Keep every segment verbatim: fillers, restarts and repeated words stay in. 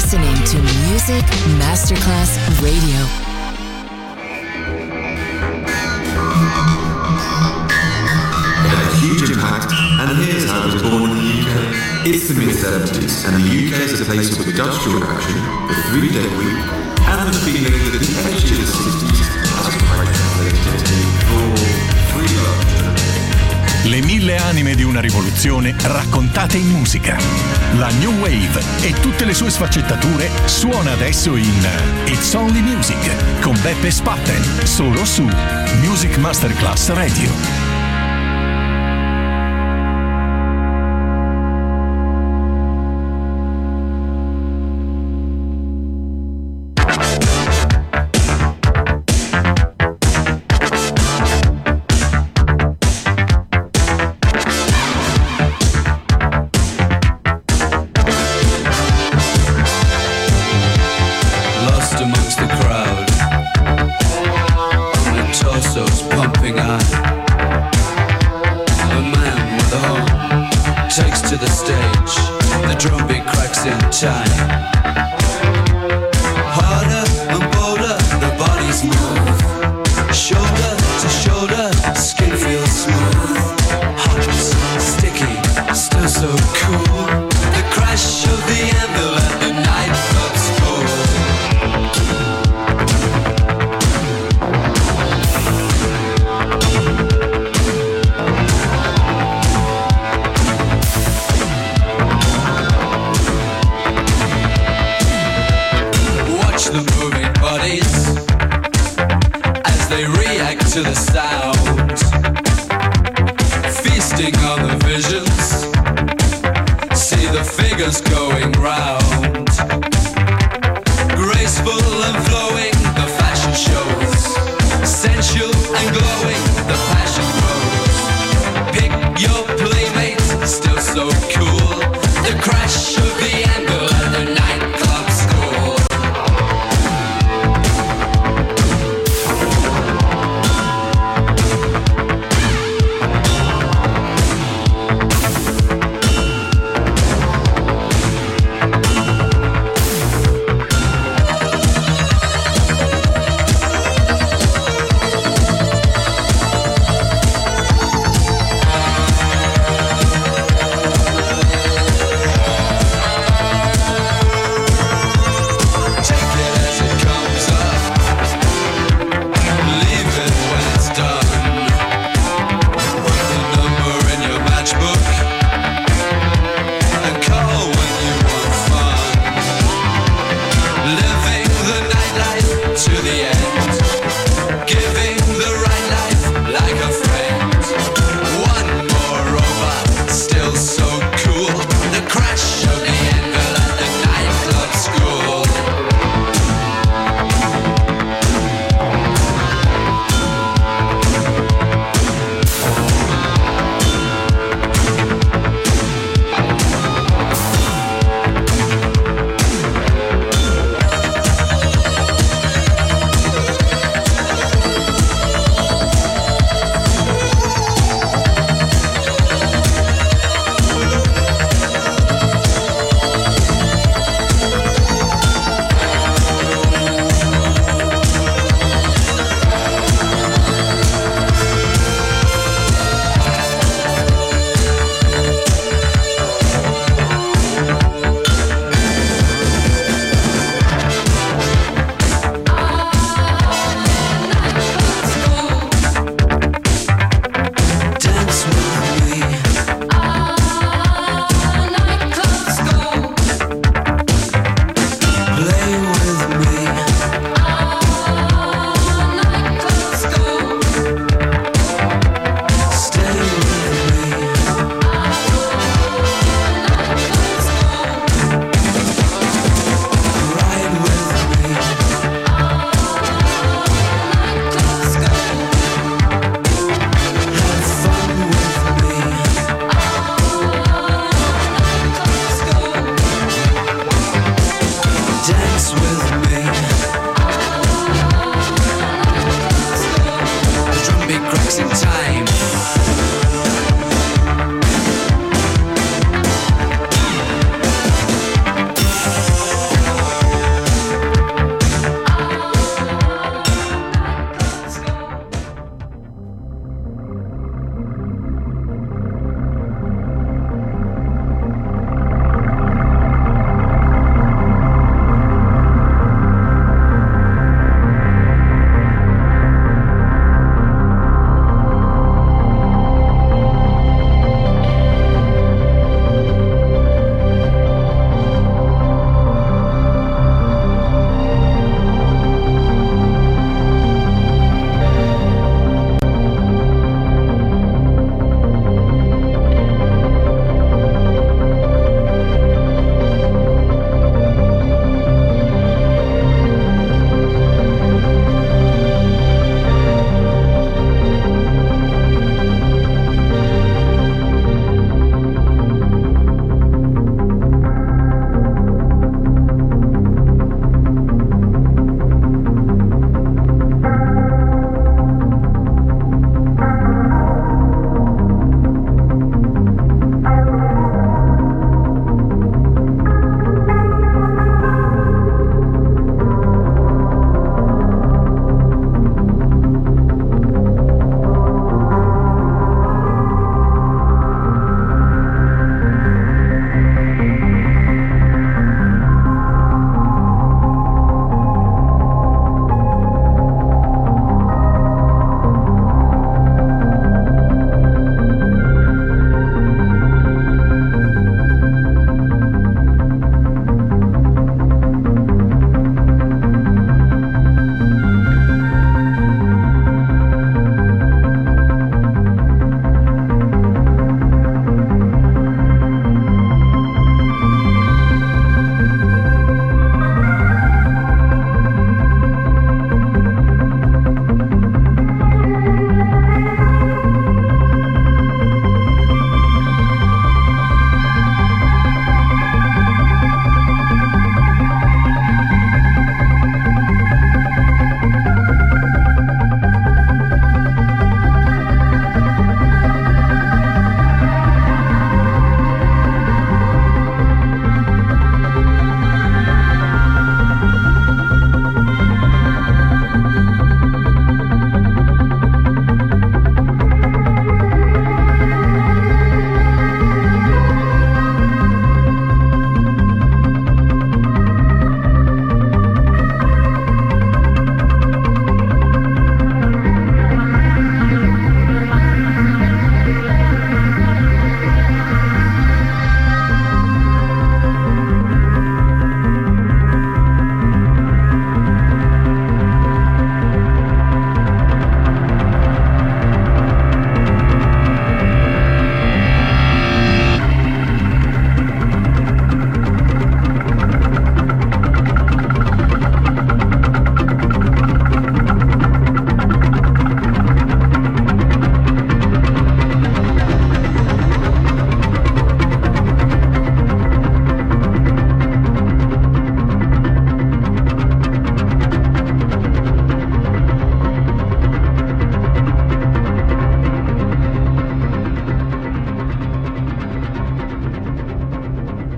listening to Music Masterclass Radio. Huge impact, and here's how it was born in the U K. It's the mid seventies, and the U K is a place of industrial action, the three-day week, and the feeling that the edge of the sixties has quite translated for free love. Le mille anime di una rivoluzione raccontate in musica. La New Wave e tutte le sue sfaccettature suona adesso in It's Only Music con Beppe Spatten, solo su Music Masterclass Radio.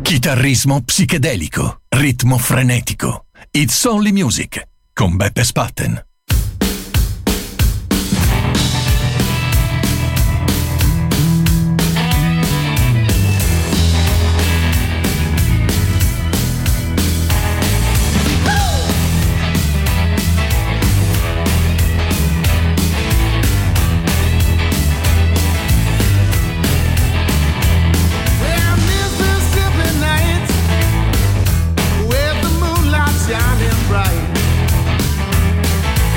Chitarrismo psichedelico, ritmo frenetico. It's Only Music con Beppe Spatten. Shining bright.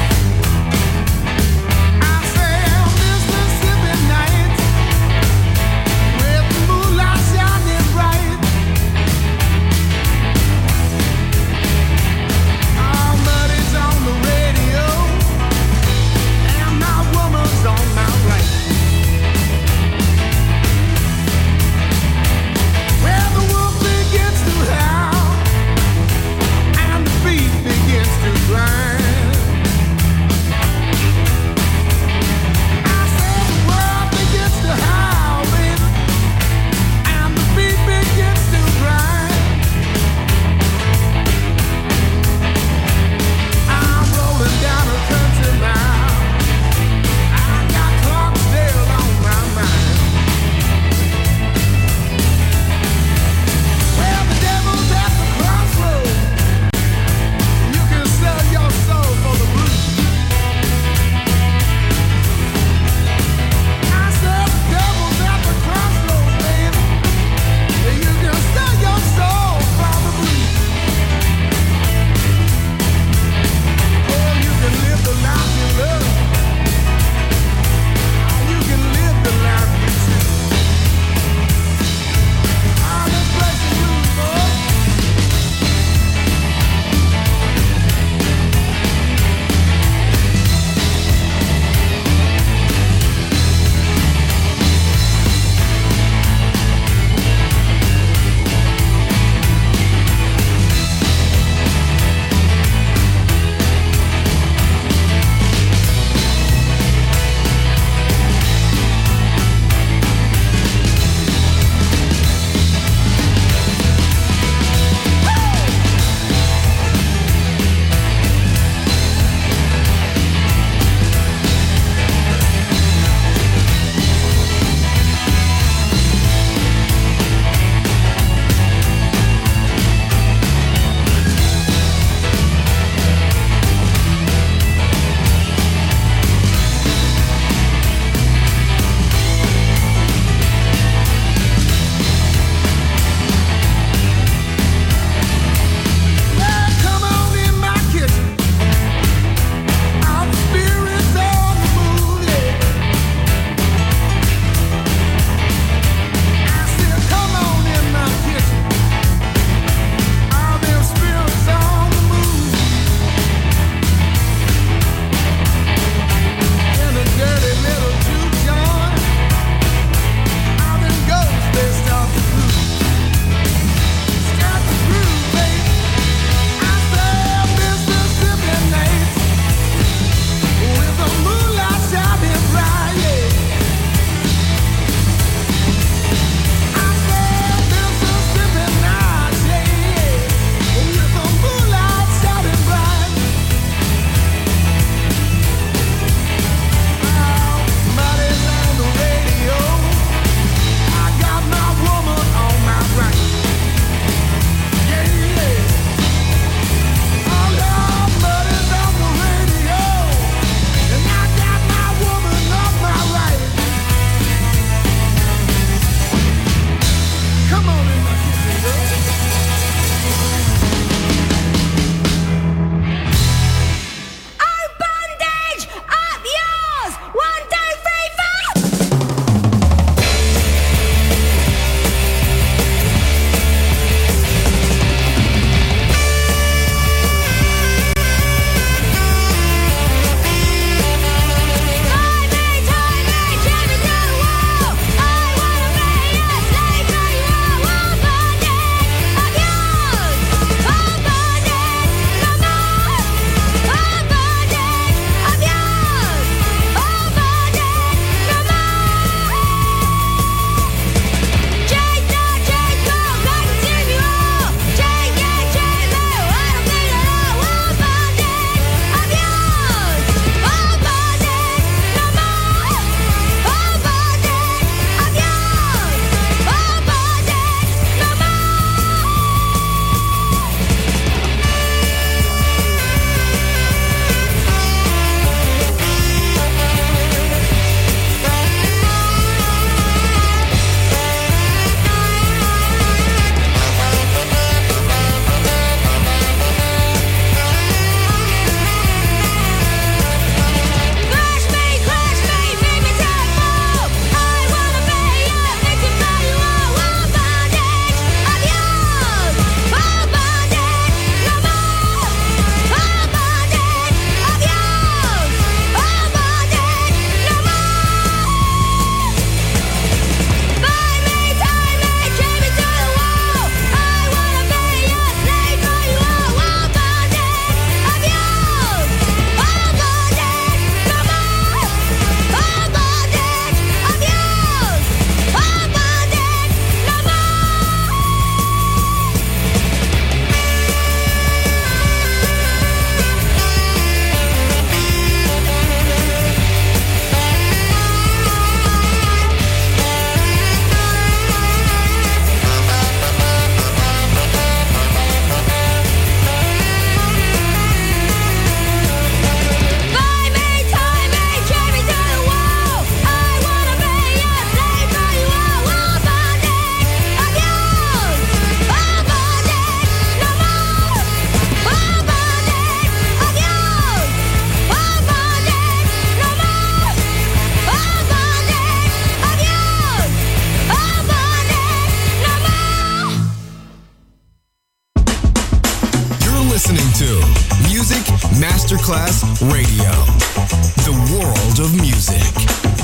listening to Music Masterclass Radio, the world of music.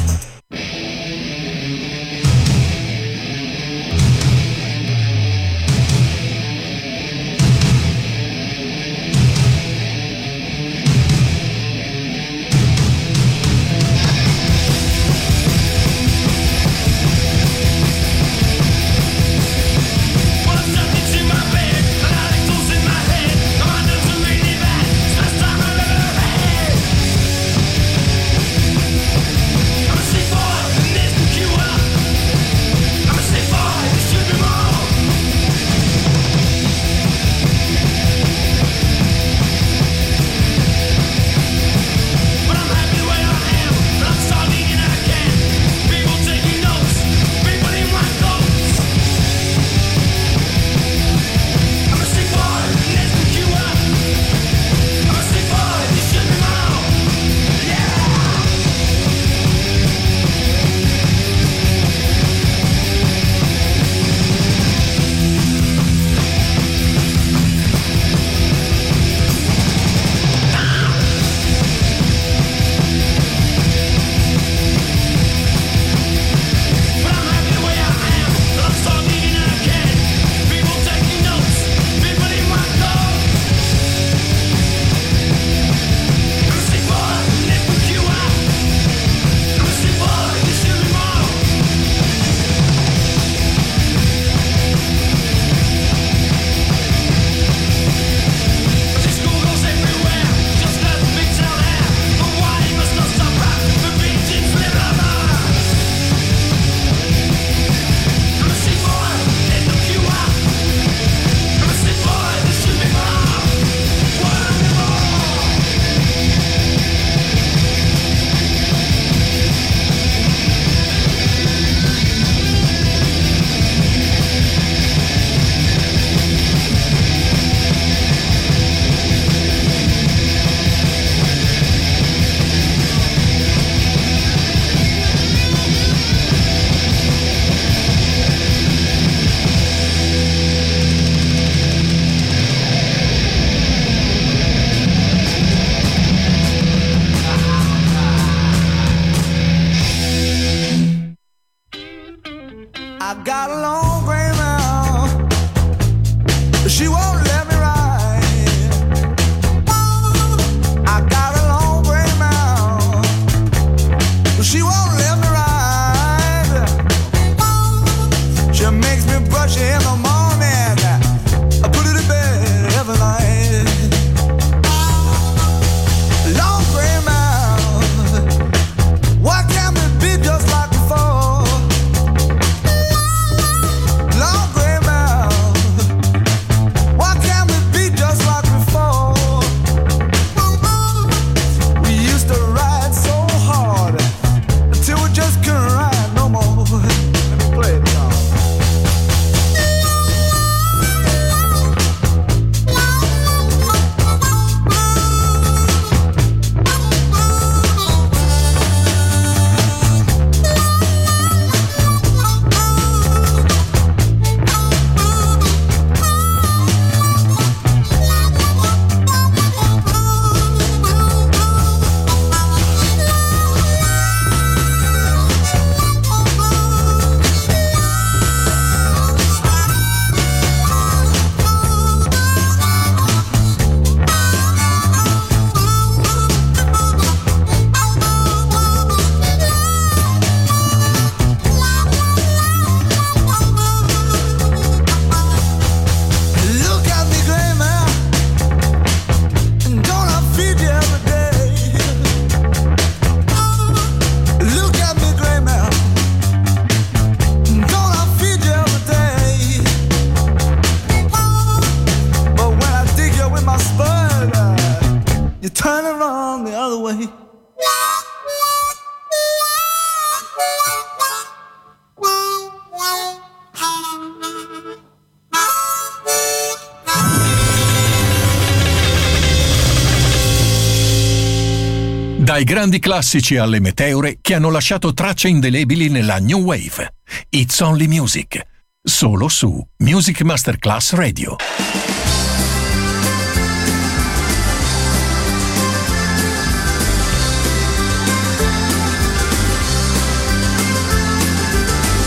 Dai grandi classici alle meteore che hanno lasciato tracce indelebili nella New Wave. It's Only Music. Solo su Music Masterclass Radio.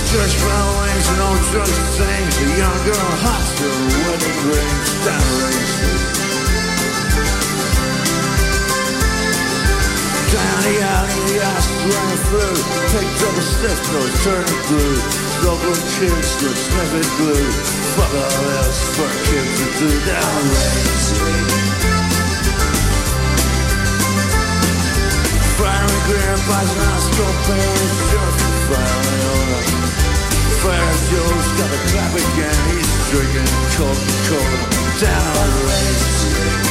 Church bell rings and old church sings. A young girl hops to her wedding rings down Rain Street. Down the alley, the ice running through. Picked up a stiff nose, turning blue. Local kids look sniffing glue. Fuck all else for kids to do down Rain Street. Firing grandpa's nostril pain, just firing over. Fire Joe's got a clap again, he's drinking Coca-Cola down on Rain Street.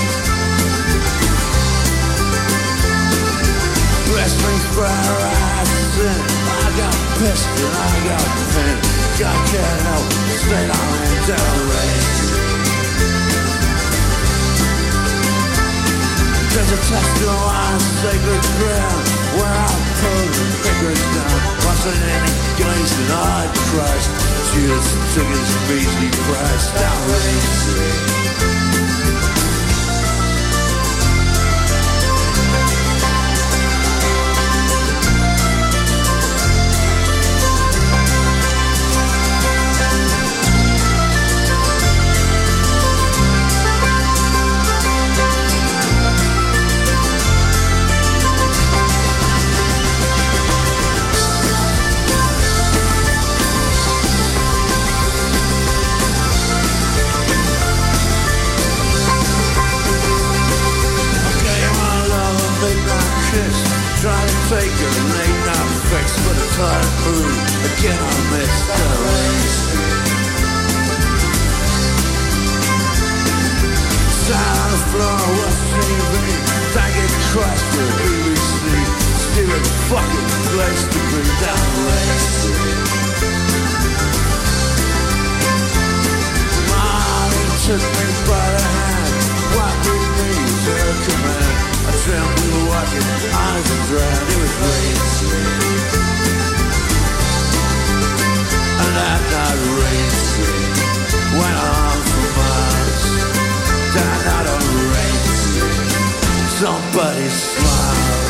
Wrestling fire eyes in, I got pissed and I got pinned. God can't help, stayed on and down Rain Street. There's a tattoo on sacred ground where I pulled the fingers down. Wasn't any gaze in odd Christ. Jesus took his measly price down Rain Street. Try to take her late night fix, but it's hard to move. Again I missed down Rain Street. Sat on the floor, watch T V. Thank you Christ for the B B C. Stupid fucking place to be down Rain Street. Mommy took me by the hand, walked with me to her command. I dreamt we were walking, eyes were dry, it was Rain Street. And that night Rain Street went on for miles. Down out on Rain Street, somebody smiled.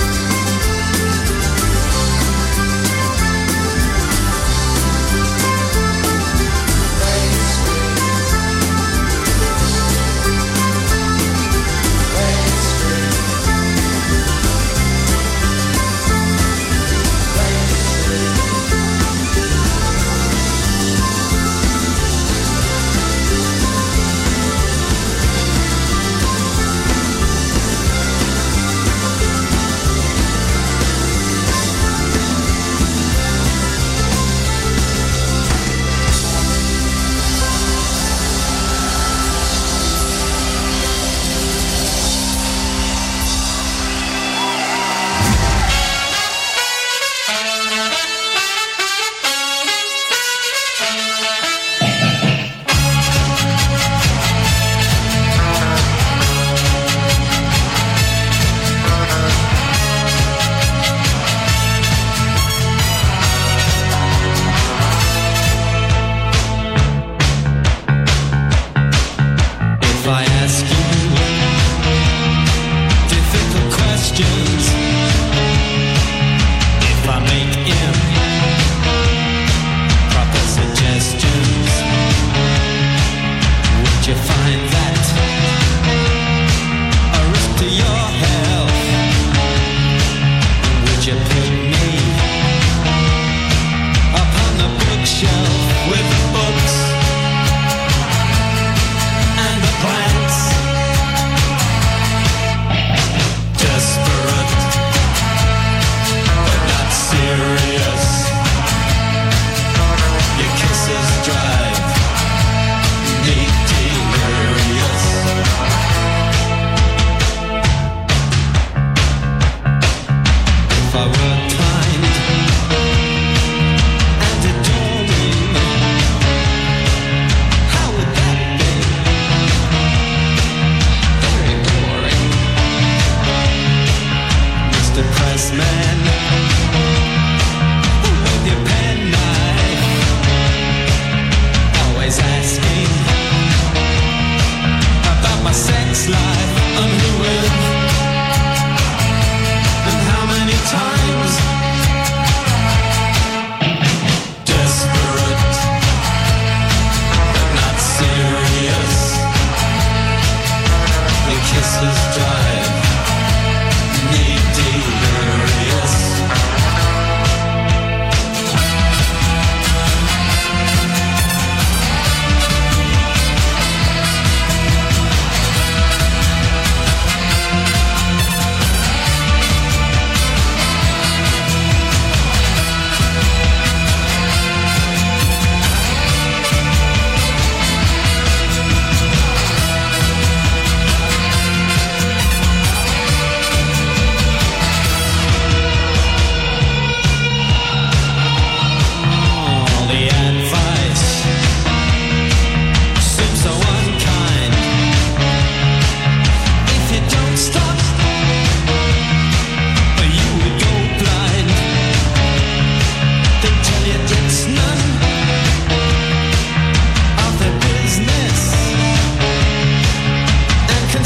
Times desperate.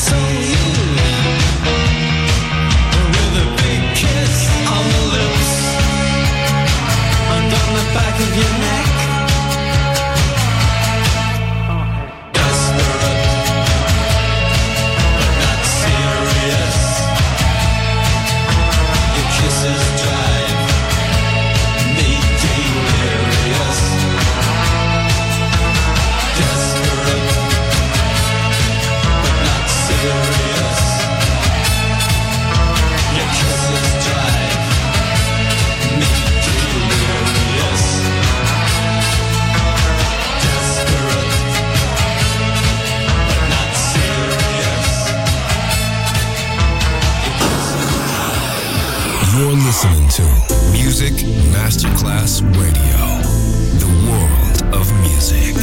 listening to Music Masterclass Radio, the world of music.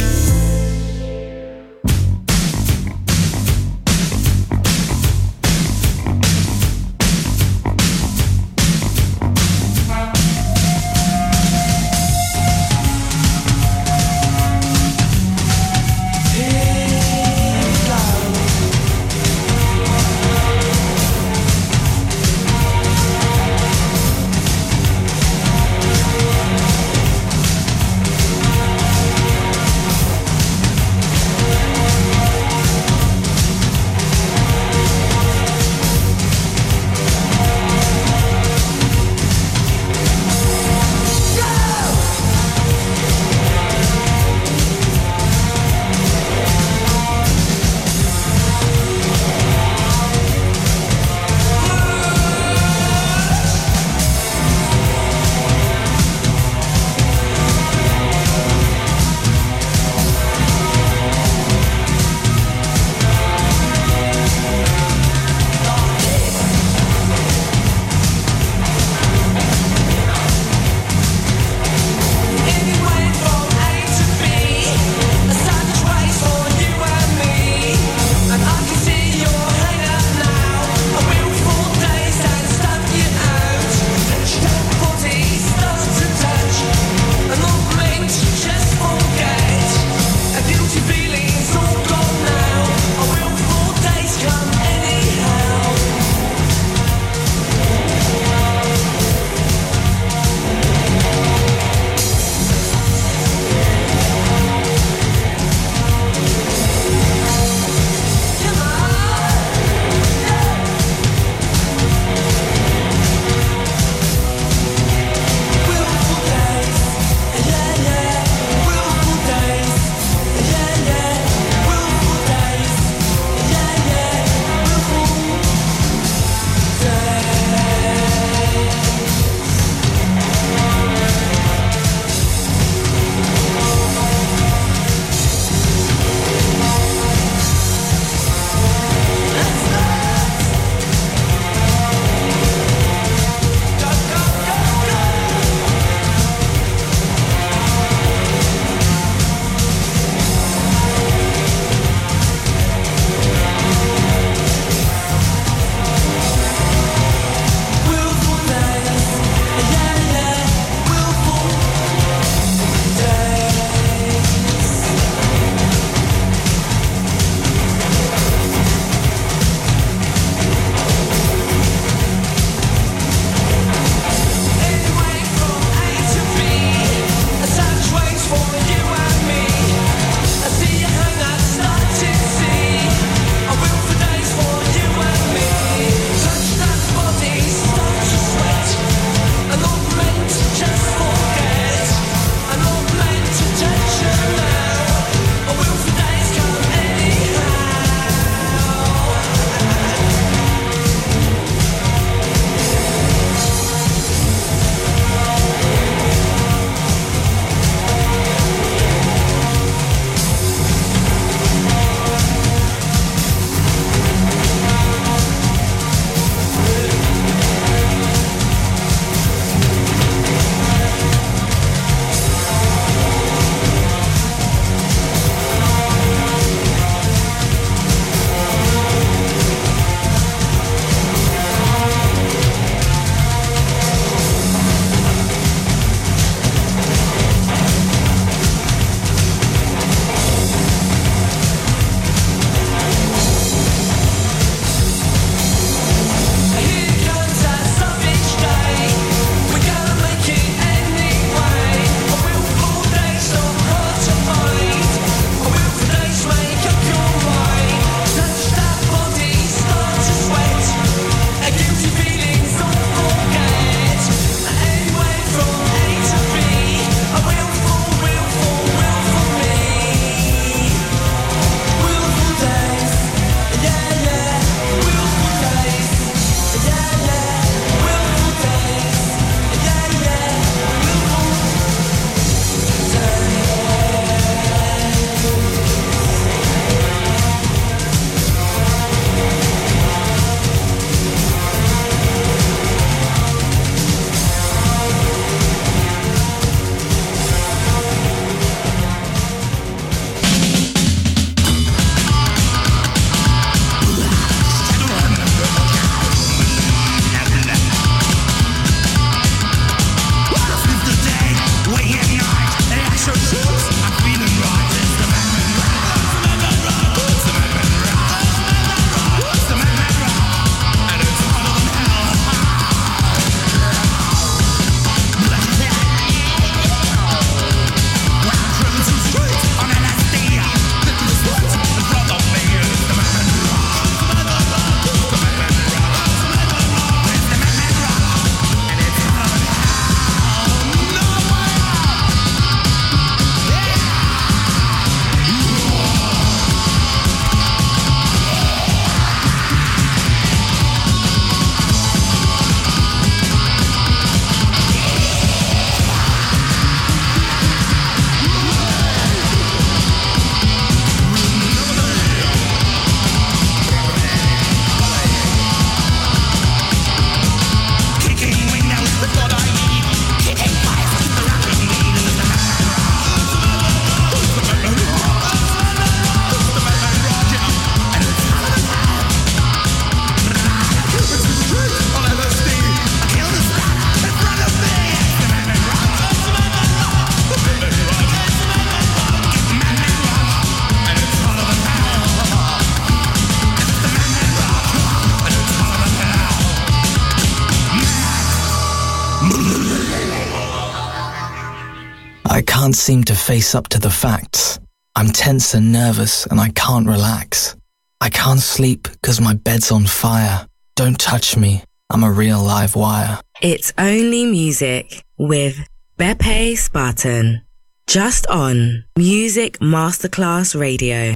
can't seem to face up to the facts. I'm tense and nervous and I can't relax. I can't sleep because my bed's on fire. Don't touch me, I'm a real live wire. It's Only Music with Beppe Spartan. Just on Music Masterclass Radio.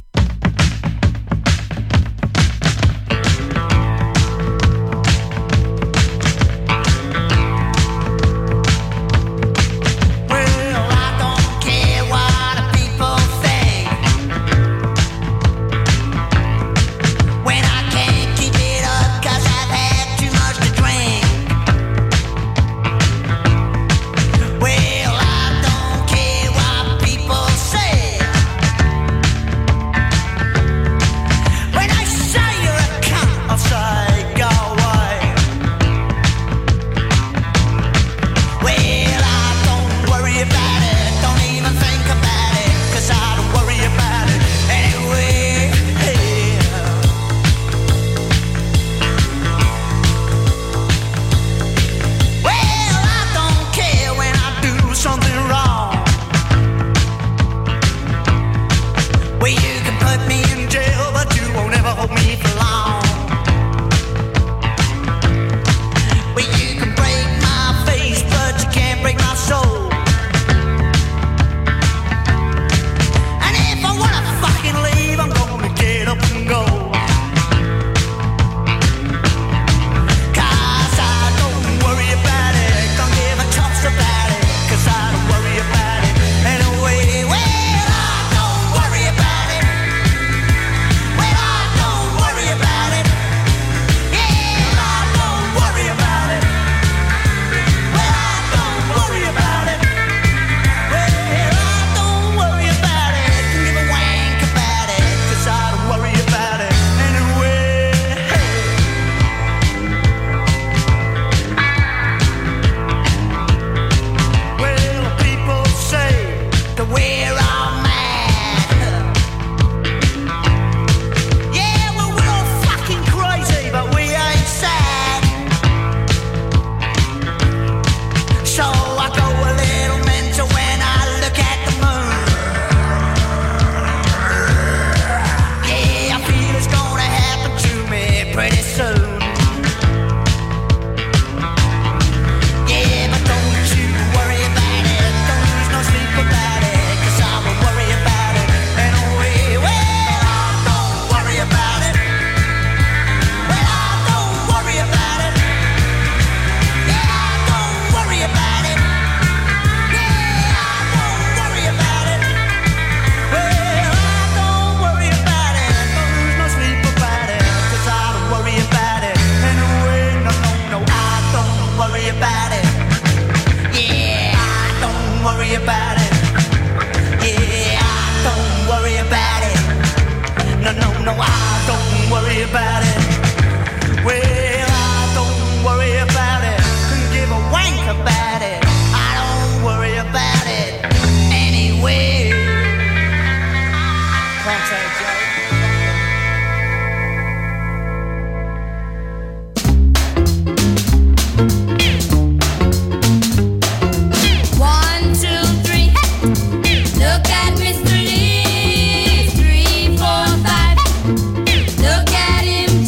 Look at him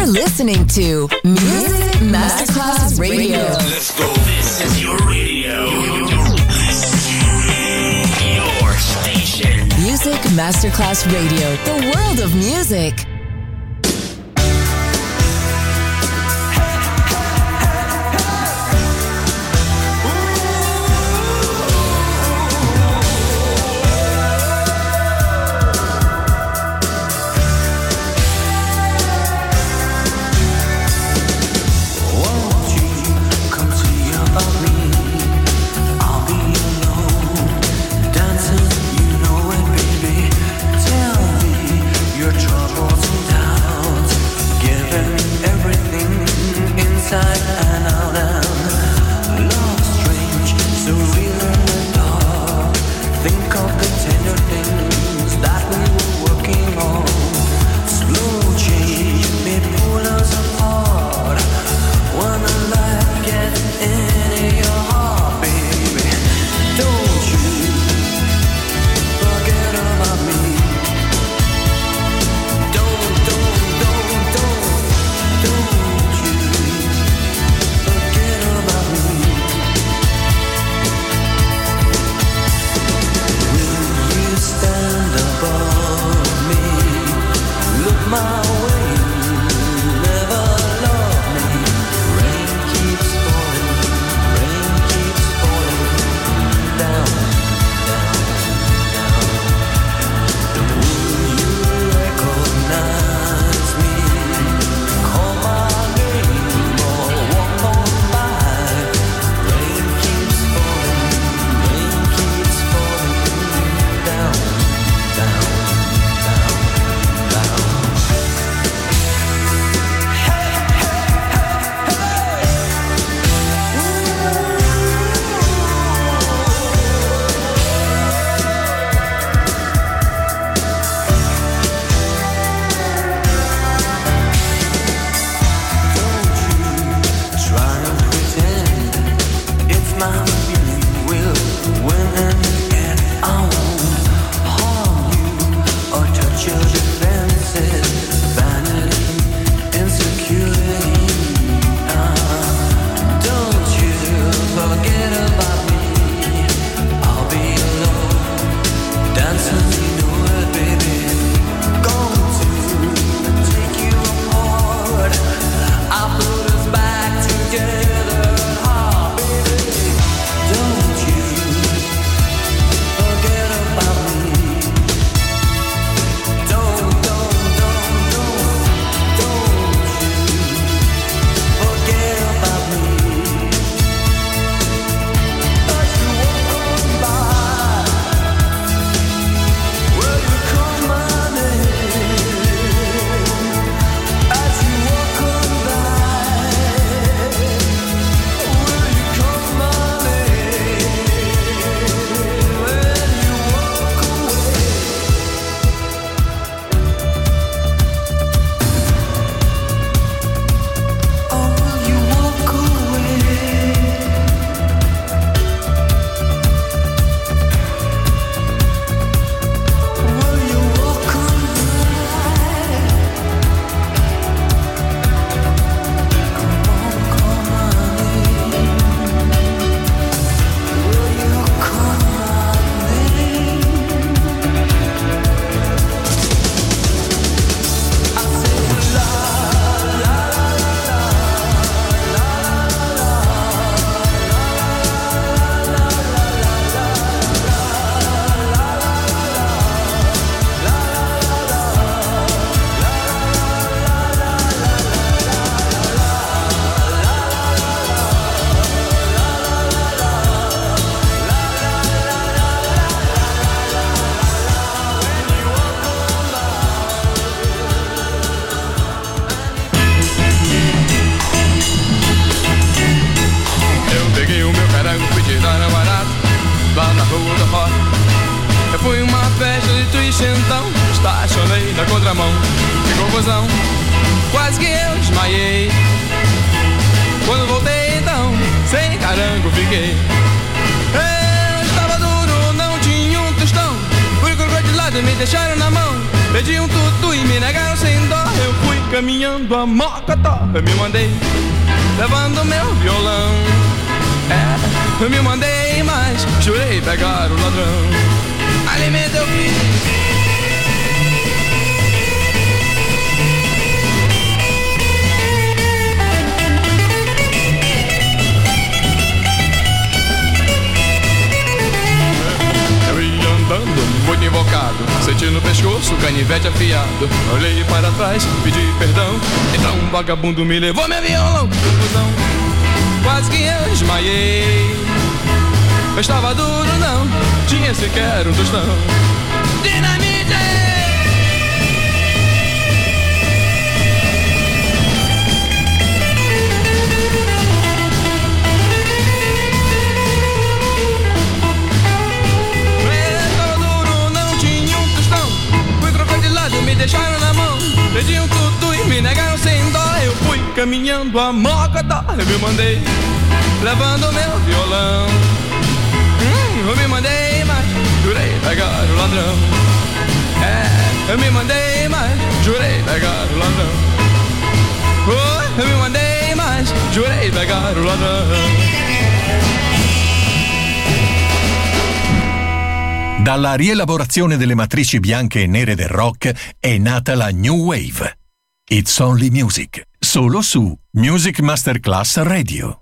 listening to Music Masterclass Radio. Let's go. This is your radio. Your station. Music Masterclass Radio. The world of music. Quase que eu desmaiei. Quando voltei então, sem carango fiquei. Eu estava duro, não tinha um tostão. Fui crocodilado e me deixaram na mão. Pedi um tutu e me negaram sem dó. Eu fui caminhando a mocotó. Eu me mandei, levando meu violão. É, eu me mandei, mas jurei pegar o ladrão. Alimento eu fiz. Andando, muito invocado, senti no pescoço, canivete afiado. Olhei para trás, pedi perdão. Então um vagabundo me levou meu violão. Confusão, quase que eu desmaiei. Eu estava duro, não tinha sequer um tostão. Dinamite! Me deixaram na mão, pediam tudo e me negaram sem dó. Eu fui caminhando a mocotó. Eu me mandei, levando meu violão. Hum, eu me mandei, mas jurei pegar o ladrão. É, eu me mandei, mas jurei pegar o ladrão. Oh, eu me mandei, mas jurei pegar o ladrão. Dalla rielaborazione delle matrici bianche e nere del rock è nata la New Wave. It's Only Music, solo su Music Masterclass Radio.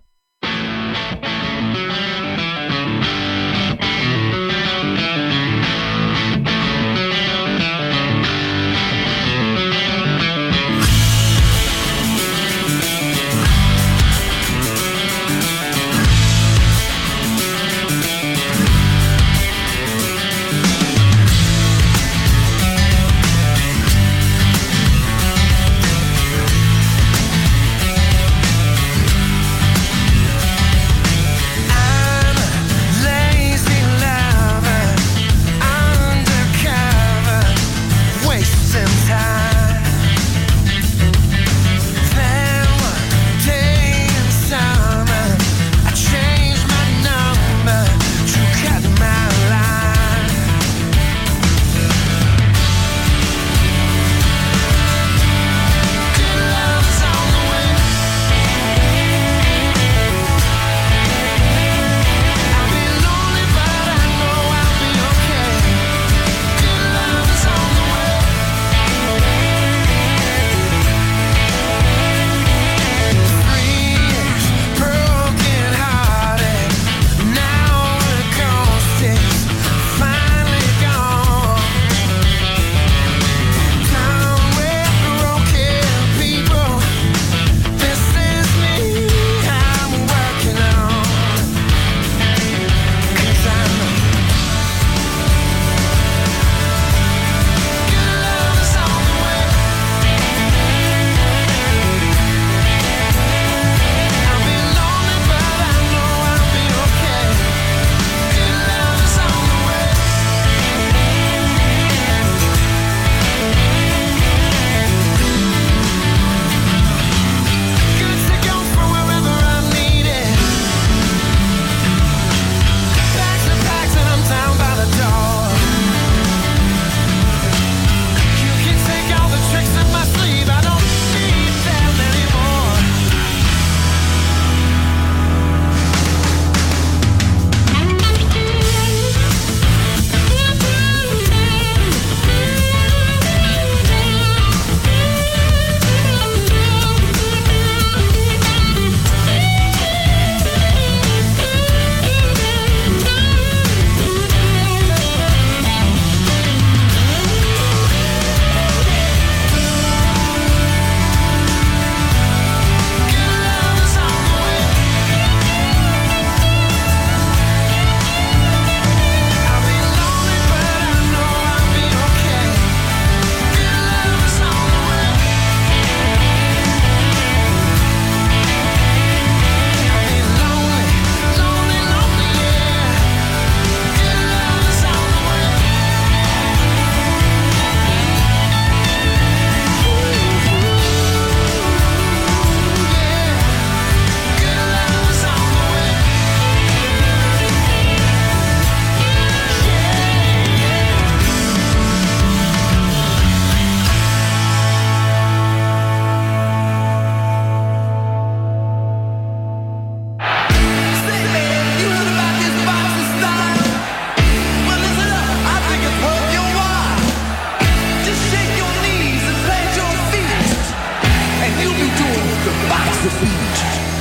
the beat.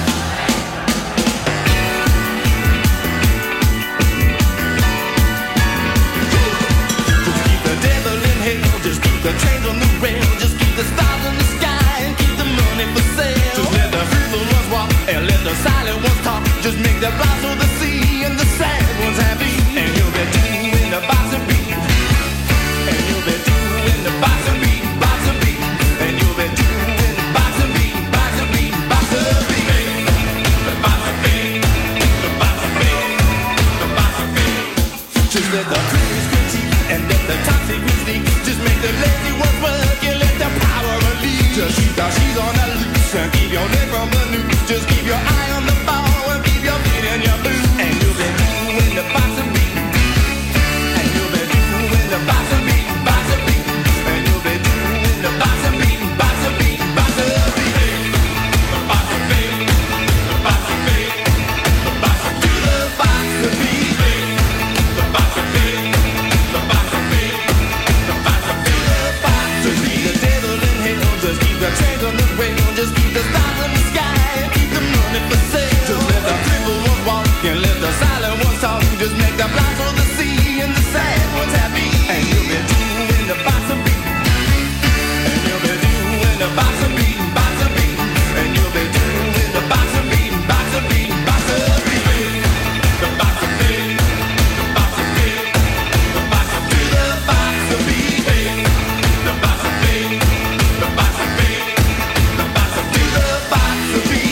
Just keep the devil in hell, just keep the trains on the rail, just keep the stars in the sky and keep the money for sale. Just let the fruitful ones walk and let the silent ones talk. Just make the blind so the sea and the sad ones happy. And you'll be doing the boxing beat. And you'll be doing the boxing beat, boxing beat. And you'll be doing the boxing beat, boxing beat, boxing beat. The boxing beat, the boxing beat, the boxing beat. Just let the critics critique and let the toxic sneak. Just make the lazy ones work and let the power release. Just keep the she's on the loose and keep your neck from the news. Just keep your eye on the ball and keep your feet in your boots. And you'll be doing the boxing beat. And you'll be doing the boxing beat, boxing beat. And you'll be doing the boxing beat, boxing beat, boxing beat. The boxing beat, the boxing beat, the boxing beat, the boxing beat. The boxing beat, the boxing beat, the boxing beat, the boxing beat. The devil in hell, just keep the trains on the rail, just keep the stars in the sky and keep the money for sale. Just let the crippled ones walk and let the silent ones talk. Just make the blind so the sea and the sad ones happy. And you'll be doing the boxing beat. And you'll be doing the boxing beat, boxing beat. And you'll be doing the boxing beat, boxing beat, boxing beat. The boxing beat, the boxing beat, the boxing beat, the boxing beat. The boxing beat, the boxing beat, the boxing beat, the boxing beat.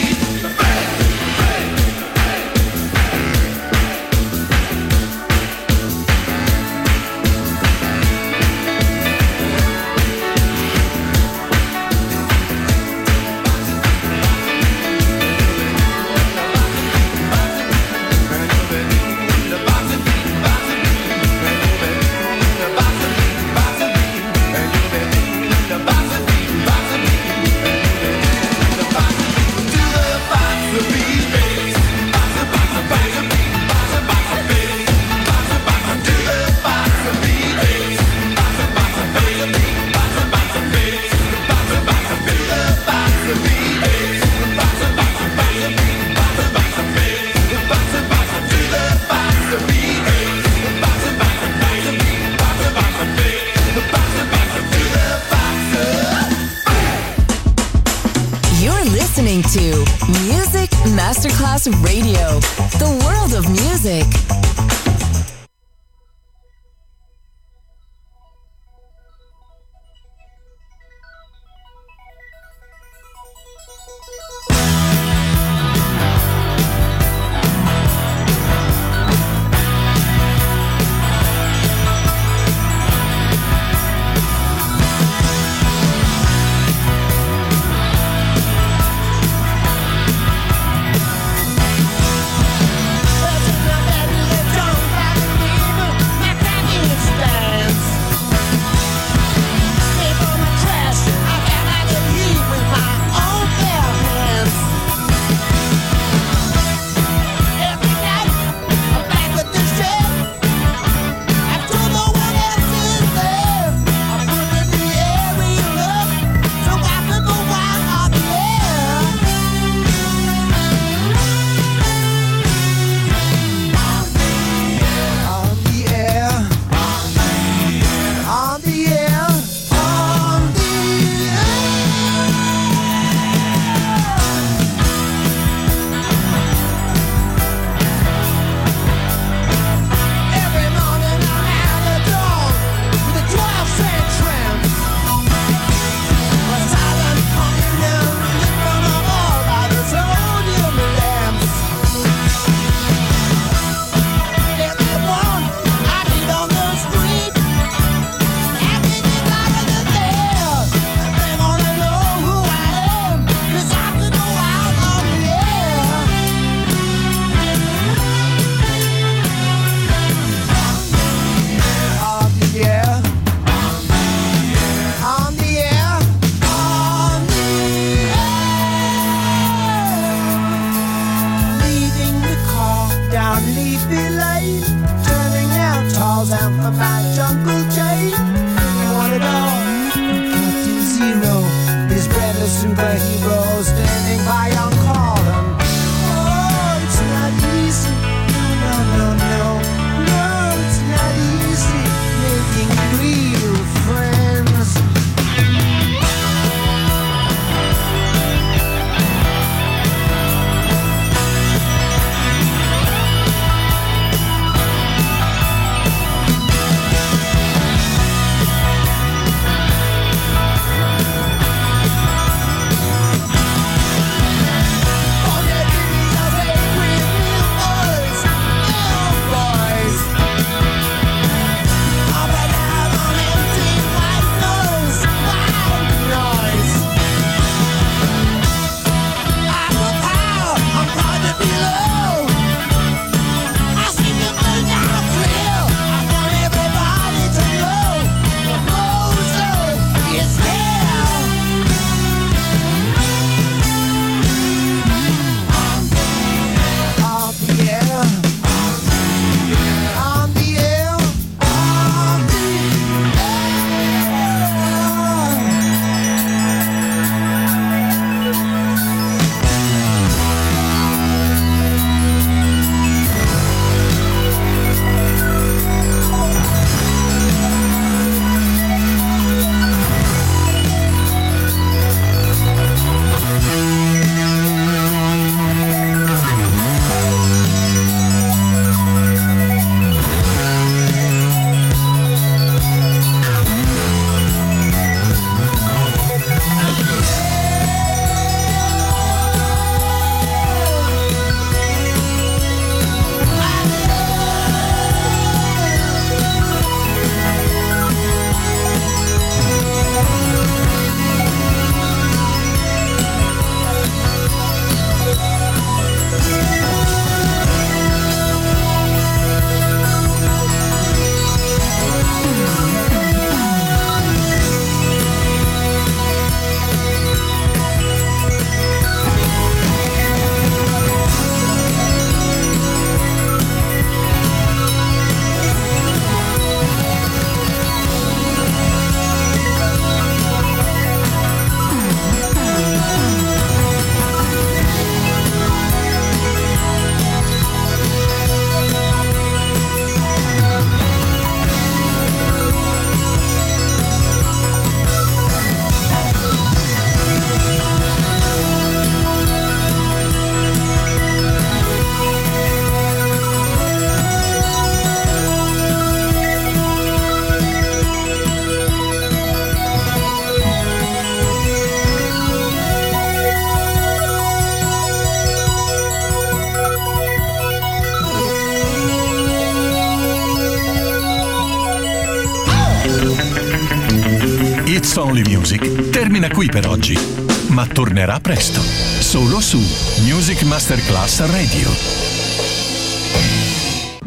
You're listening to Music Masterclass Radio, the world of music. superhero standing by your It's Only Music termina qui per oggi, ma tornerà presto, solo su Music Masterclass Radio.